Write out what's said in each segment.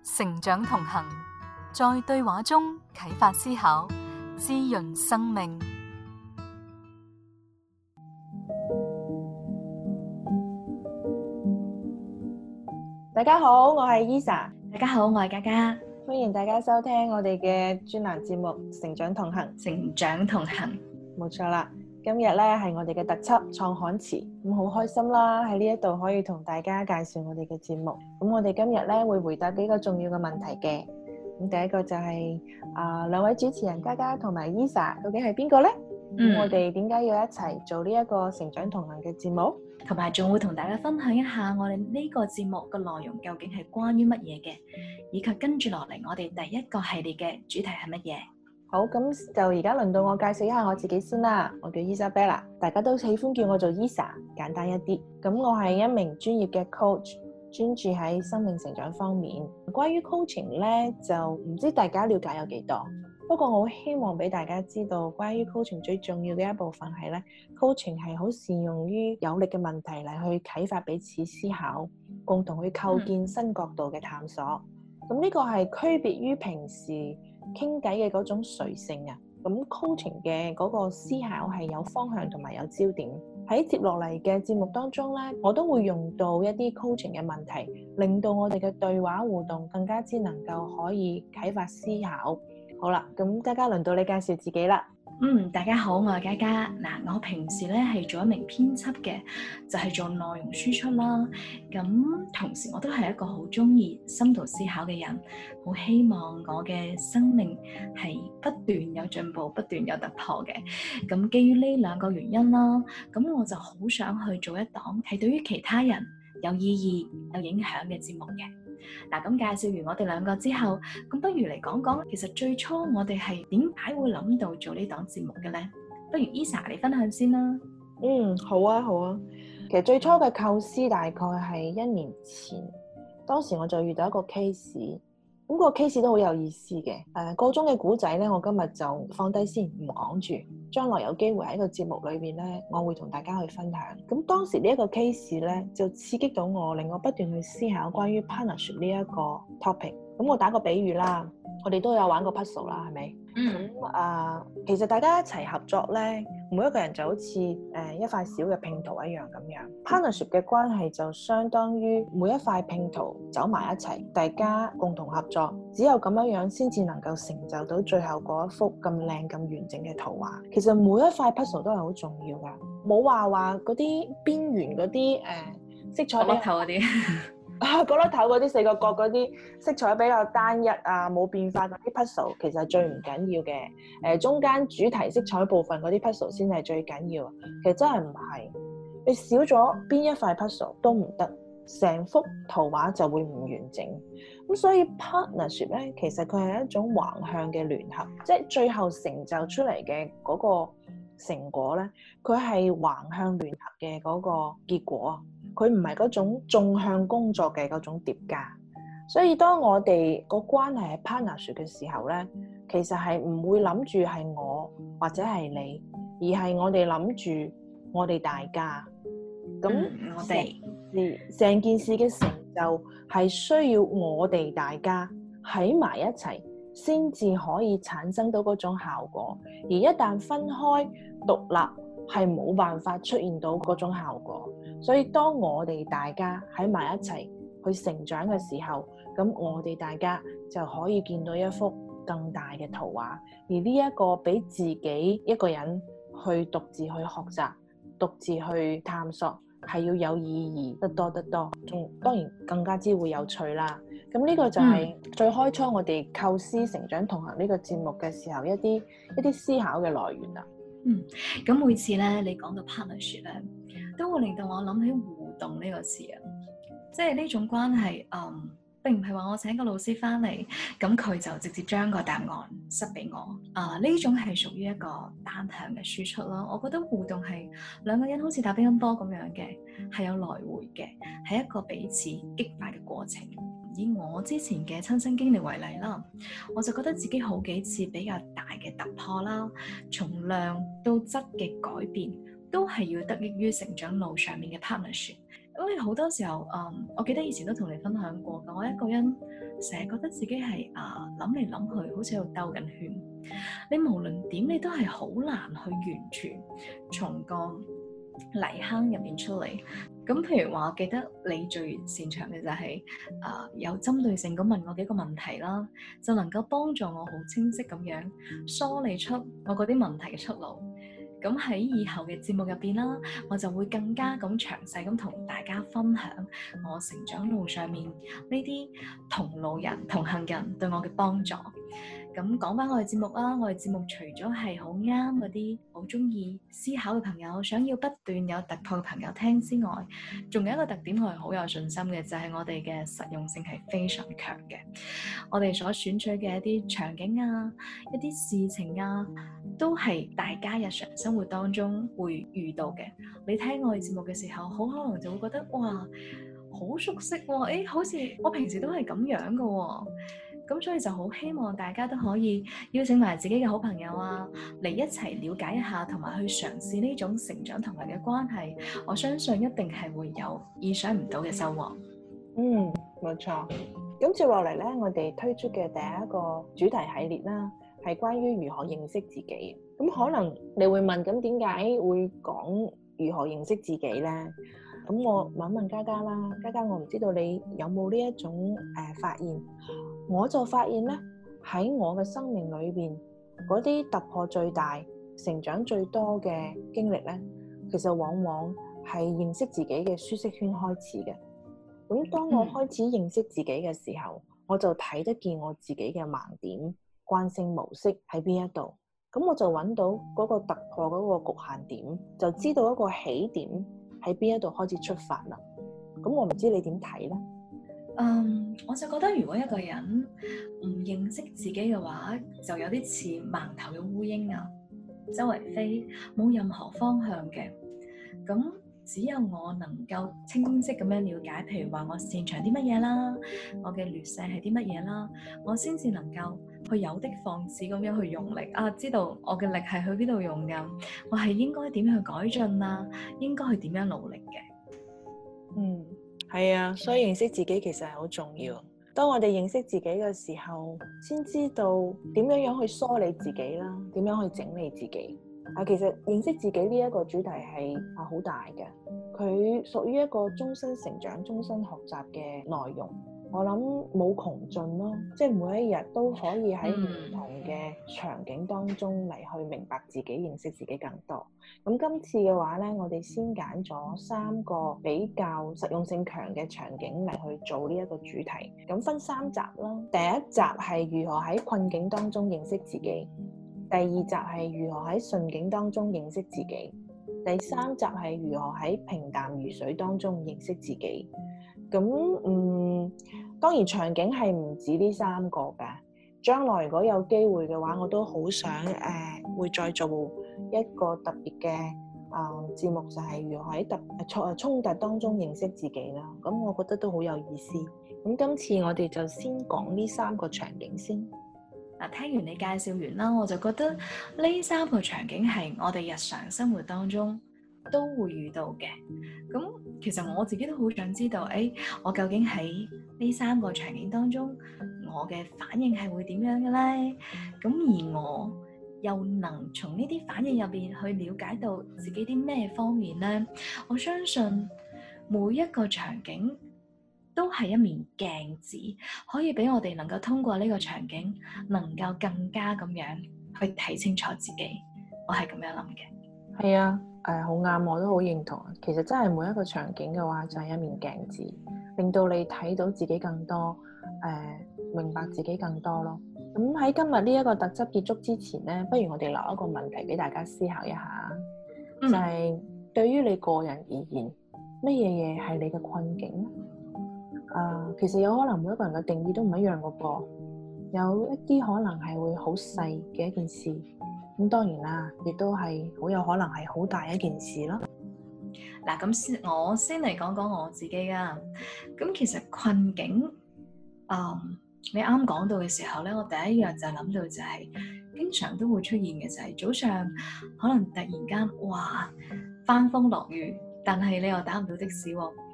成長同行，在對話中啟發思考，滋潤生命。 大家好，我係 Esa。 大家好，我係嘉嘉。 歡迎大家收聽我哋嘅專欄節目《成長同行》。 成長同行， 冇錯啦。今日咧係我哋嘅特輯創刊詞，咁好開心啦！喺呢一度可以同大家介紹我哋嘅節目。咁我哋今日咧會回答幾個重要嘅問題嘅。咁第一個就係兩位主持人嘉嘉同埋 Esa， 究竟係邊個咧？咁我哋點解要一齊做呢一個成長同行嘅節目？ 同埋仲會同大家分享一下我哋呢個節目嘅內容究竟係關於乜嘢嘅，以及跟住落嚟我哋第一個系列嘅主題係乜嘢？ 好，咁就而家輪到我介紹一下我自己先啦。我叫 Isabella， 大家都喜歡叫我做 Esa， 簡單一啲。咁我係一名專業嘅 coach， 專注喺生命成長方面。關於 coaching 咧，就唔知大家了解有幾多。不過我好希望俾大家知道，關於 coaching 最重要嘅一部分係咧 ，coaching 係好善用於有力嘅問題嚟去啟發彼此思考，共同去構建新角度嘅探索。咁呢個係區別於平時傾偈嘅嗰種隨性啊。咁 coaching 嘅嗰個思考係有方向同埋有焦點。喺接落嚟嘅節目當中咧，我都會用到一啲 coaching 嘅問題，令到我哋嘅對話互動更加之能夠可以啟發思考。好啦，咁嘉嘉輪到你介紹自己啦。 大家好，我係嘉嘉。嗱，我平時咧係做一名編輯嘅，就係做內容輸出啦。咁同時我都係一個好中意深度思考嘅人，好希望我嘅生命係不斷有進步、不斷有突破嘅。咁基於呢兩個原因啦，咁我就好想去做一檔係對於其他人有意義、有影響嘅節目嘅。嗱，咁介紹完我哋兩個之後，咁不如嚟講講，其實最初我哋係點解會諗到做呢檔節目嘅咧？不如 Esa 你分享先啦。 好啊。其實最初嘅構思大概係1年前，當時我就遇到一個 case，咁個 case 都好有意思嘅。個中嘅古仔咧，我今日就放低先，唔講住。將來有機會喺個節目裏邊咧，我會同大家去分享。咁當時呢一個 case 咧，就刺激到我，令我不斷去思考關於 partnership 呢一個 topic。咁我打個比喻啦，我哋都有玩過 puzzle 啦，係咪？其實大家一齊合作咧，每一個人就好似一塊小嘅拼圖一樣咁樣。partnership 嘅關係就相當於每一塊拼圖走埋一齊，大家共同合作，只有咁樣先至能夠成就到最後嗰一幅咁靚咁完整嘅圖畫。其實每一塊 puzzle 都係好重要噶，冇話嗰啲邊緣嗰啲色彩角落頭嗰啲。 角落頭嗰啲4個角嗰啲色彩比較單一啊，冇變化嗰啲 puzzle 其實係最唔緊要嘅。中間主題色彩部分嗰啲 puzzle 先係最緊要。其實真係唔係，你少咗邊一塊 puzzle 都唔得，成幅圖畫就會唔完整。咁所以 partnership 咧，其實佢係一種橫向嘅聯合，即係最後成就出嚟嘅嗰個成果咧，佢係橫向聯合嘅嗰個結果。佢唔係嗰種縱向工作嘅嗰種疊加，所以當我哋個關係係 partnership 嘅時候咧，其實係唔會諗住係我或者係你，而係我哋諗住我哋大家。咁我哋成件事嘅成就係需要我哋大家喺埋一齊，先至可以產生到嗰種效果。而一旦分開獨立，係冇辦法出現到嗰種效果。所以當我哋大家喺埋一齊去成長嘅時候，咁我哋大家就可以見到一幅更大嘅圖畫。而呢一個比自己一個人去獨自去學習、獨自去探索，係要有意義得多得多，仲當然更加之會有趣啦。咁呢個就係最開初我哋構思成長同行呢個節目嘅時候一啲思考嘅來源啦。 咁每次咧你講到 partnership 咧，都會令到我諗起互動呢個詞啊，即係呢種關係，並唔係話我請個老師翻嚟，咁佢就直接將個答案塞俾我，呢種係屬於一個單向嘅輸出咯。我覺得互動係兩個人好似打乒乓波咁樣嘅，係有來回嘅，係一個彼此激發嘅過程。以我之前嘅親身經歷為例啦，我就覺得自己好幾次比較大嘅突破啦，從量到質嘅改變，都係要得益於成長路上面嘅 partnership。 因為好多時候，我記得以前都同你分享過嘅，我一個人成日覺得自己係諗嚟諗去，好似喺度兜緊圈。你無論點，你都係好難去完全從個泥坑入邊出嚟。咁譬如話，我記得你最擅長嘅就係有針對性咁問我幾個問題啦，就能夠幫助我好清晰咁樣梳理出我嗰啲問題嘅出路。咁喺以後嘅節目入邊啦，我就會更加咁詳細咁同大家分享我成長路上面呢啲同路人、同行人對我嘅幫助。咁講翻我哋節目啦，我哋節目除咗係好啱嗰啲好中意思考嘅朋友，想要不斷有突破嘅朋友聽之外，仲有一個特點我係好有信心嘅，就係我哋嘅實用性係非常強嘅。我哋所選取嘅一啲場景啊、一啲事情啊，都係大家日常生活當中會遇到嘅。你聽我哋節目嘅時候，好可能就會覺得哇，好熟悉喎，好似我平時都係咁樣嘅喎。咁所以就好希望大家都可以邀請埋自己嘅好朋友啊，嚟一齊了解一下，同埋去嘗試呢種成長同埋嘅關係。我相信一定係會有意想唔到嘅收穫。 冇錯。咁接落嚟咧，我哋推出嘅第一個主題系列啦，係關於如何認識自己。咁可能你會問，咁點解會講如何認識自己咧？咁我問一問嘉嘉啦，嘉嘉，我唔知道你有冇呢一種發現？我就發現咧，喺我嘅生命裏邊，嗰啲突破最大、成長最多嘅經歷咧，其實往往係認識自己嘅舒適圈開始嘅。咁當我開始認識自己嘅時候，我就睇得見我自己嘅盲點、慣性模式喺邊一度。咁我就揾到嗰個突破嗰個局限點，就知道一個起點喺邊一度開始出發啦。咁我唔知你點睇咧？ 我就覺得如果一個人唔認識自己嘅話，就有啲似盲頭嘅烏蠅啊，周圍飛，冇任何方向嘅。咁只有我能夠清晰咁樣了解，譬如話我擅長啲乜嘢啦，我嘅劣勢係啲乜嘢啦，我先至能夠去有的放矢咁樣去用力啊，知道我嘅力係去邊度用㗎，我係應該點樣去改進啊，應該去點樣努力嘅。 係啊，所以認識自己其實係好重要。當我哋認識自己嘅時候，先知道點樣去梳理自己啦，點樣去整理自己。其實認識自己呢一個主題係好大嘅，佢屬於一個終身成長、終身學習嘅內容。我諗冇窮盡咯，即係每一日都可以喺唔同嘅場景當中嚟去明白自己、認識自己更多。咁今次嘅話咧，我哋先揀咗3個比較實用性強嘅場景嚟去做呢一個主題。咁分3集啦。第一集係如何喺困境當中認識自己，第2集係如何喺順境當中認識自己，第3集係如何喺平淡如水當中認識自己。咁當然場景係唔止呢3個嘅。將來如果有機會嘅話，我都好想會再做一個特別嘅節目，就係如何喺衝突當中認識自己啦。咁我覺得都好有意思。咁今次我哋就先講呢3個場景先。 聽完你介紹完啦，我就覺得呢3個場景係我哋日常生活當中都會遇到嘅。咁其實我自己都好想知道，我究竟喺呢3個場景當中，我嘅反應係會點樣嘅咧？咁而我又能從呢啲反應入邊去了解到自己啲咩方面咧？我相信每一個場景都係一面鏡子，可以俾我哋能夠通過呢個場景，能夠更加咁樣去睇清楚自己。我係咁樣諗嘅。 係啊，好啱，我都好認同。其實真係每一個場景嘅話，就係一面鏡子，令到你睇到自己更多，明白自己更多咯。咁喺今日呢一個特輯結束之前咧，不如我哋留一個問題俾大家思考一下，就係對於你個人而言，乜嘢嘢係你嘅困境咧？其實有可能每一個人嘅定義都唔一樣嘅噃，有一啲可能係會好細嘅一件事，咁當然啦，亦都係好有可能係好大一件事咯。 嗱，咁我先嚟講講我自己啊。咁其實困境，你啱講到嘅時候咧，我第一樣就諗到就係經常都會出現嘅就係早上可能突然間哇翻風落雨，但係你又打唔到的士喎，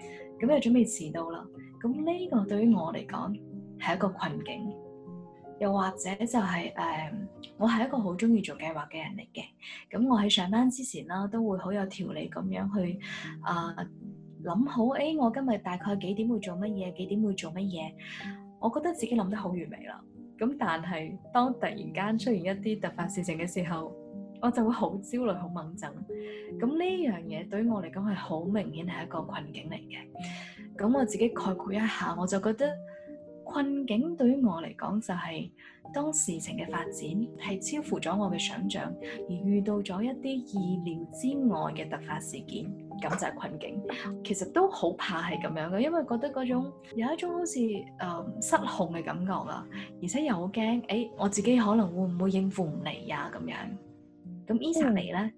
咁又準備遲到啦。咁呢個對於我嚟講係一個困境，又或者就係我係一個好中意做計劃嘅人嚟嘅。咁我喺上班之前啦，都會好有條理咁樣去諗好，我今日大概幾點會做乜嘢，幾點會做乜嘢。我覺得自己諗得好完美啦。咁但係當突然間出現一啲突發事情嘅時候，我就會好焦慮、好掹憎。咁呢樣嘢對於我嚟講係好明顯係一個困境嚟嘅。咁我自己概括一下，我就覺得困境對於我嚟講就係當事情嘅發展係超乎咗我嘅想像，而遇到咗一啲意料之外嘅突發事件，咁就係困境。其實都好怕係咁樣嘅，因為覺得嗰種有一種好似失控嘅感覺啊，而且又好驚，我自己可能會唔會應付唔嚟呀咁樣。咁 Esa 你咧？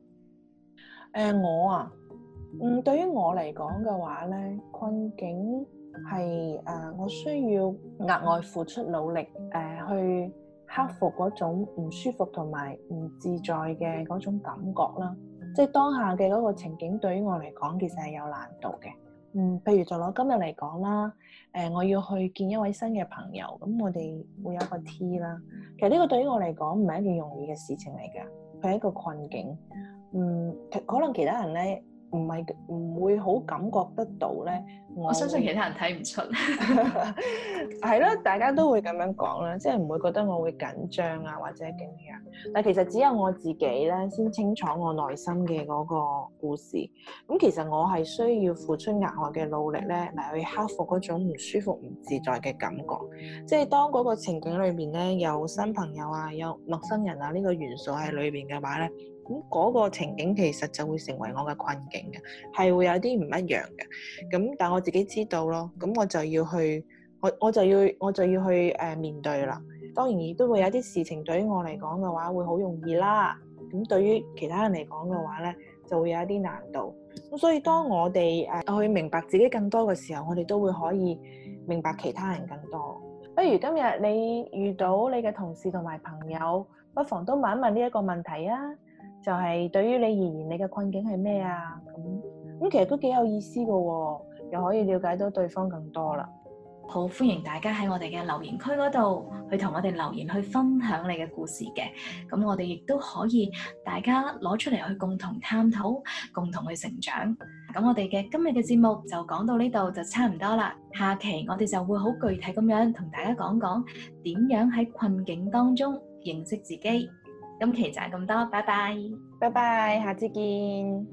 對於我嚟講嘅話咧，困境係我需要額外付出努力去克服嗰種唔舒服同埋唔自在嘅嗰種感覺啦。即係當下嘅嗰個情景對於我嚟講，其實係有難度嘅。譬如就攞今日嚟講啦，我要去見一位新嘅朋友，咁我哋會有一個 T 啦。其實呢個對於我嚟講唔係一件容易嘅事情嚟㗎，佢係一個困境。可能其他人咧唔會好感覺得到咧。 我相信其他人睇唔出， 係咯，大家都會咁樣講啦，即係唔會覺得我會緊張啊或者點樣。但其實只有我自己咧先清楚我內心嘅嗰個故事。咁其實我係需要付出額外嘅努力咧嚟去克服嗰種唔舒服、唔自在嘅感覺。即係當嗰個情景裏邊咧有新朋友啊、有陌生人啊呢個元素喺裏邊嘅話咧，咁嗰個情景其實就會成為我嘅困境嘅，係會有啲唔一樣嘅。咁但我自己知道咯，咁我就要去，我就要去面對啦。當然亦都會有啲事情對於我嚟講嘅話會好容易啦，咁對於其他人嚟講嘅話咧就會有一啲難度。咁所以當我哋去明白自己更多嘅時候，我哋都會可以明白其他人更多。不如今日你遇到你嘅同事同埋朋友，不妨都問一問呢一個問題啊，就係對於你而言，你嘅困境係咩啊？咁其實都幾有意思㗎喎，又可以了解到對方更多啦。 好歡迎大家喺我哋嘅留言區嗰度去同我哋留言，去分享你嘅故事嘅。咁我哋亦都可以大家攞出嚟去共同探討，共同去成長。咁我哋嘅今日嘅節目就講到呢度就差唔多啦。下期我哋就會好具體咁樣同大家講講點樣喺困境當中認識自己。今期就係咁多，拜拜， 拜拜，下次見。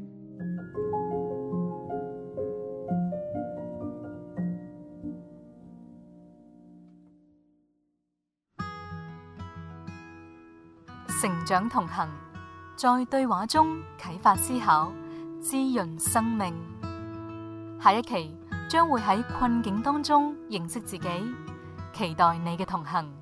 成長同行，在對話中啟發思考，滋潤生命。下一期將會喺困境當中認識自己，期待你嘅同行。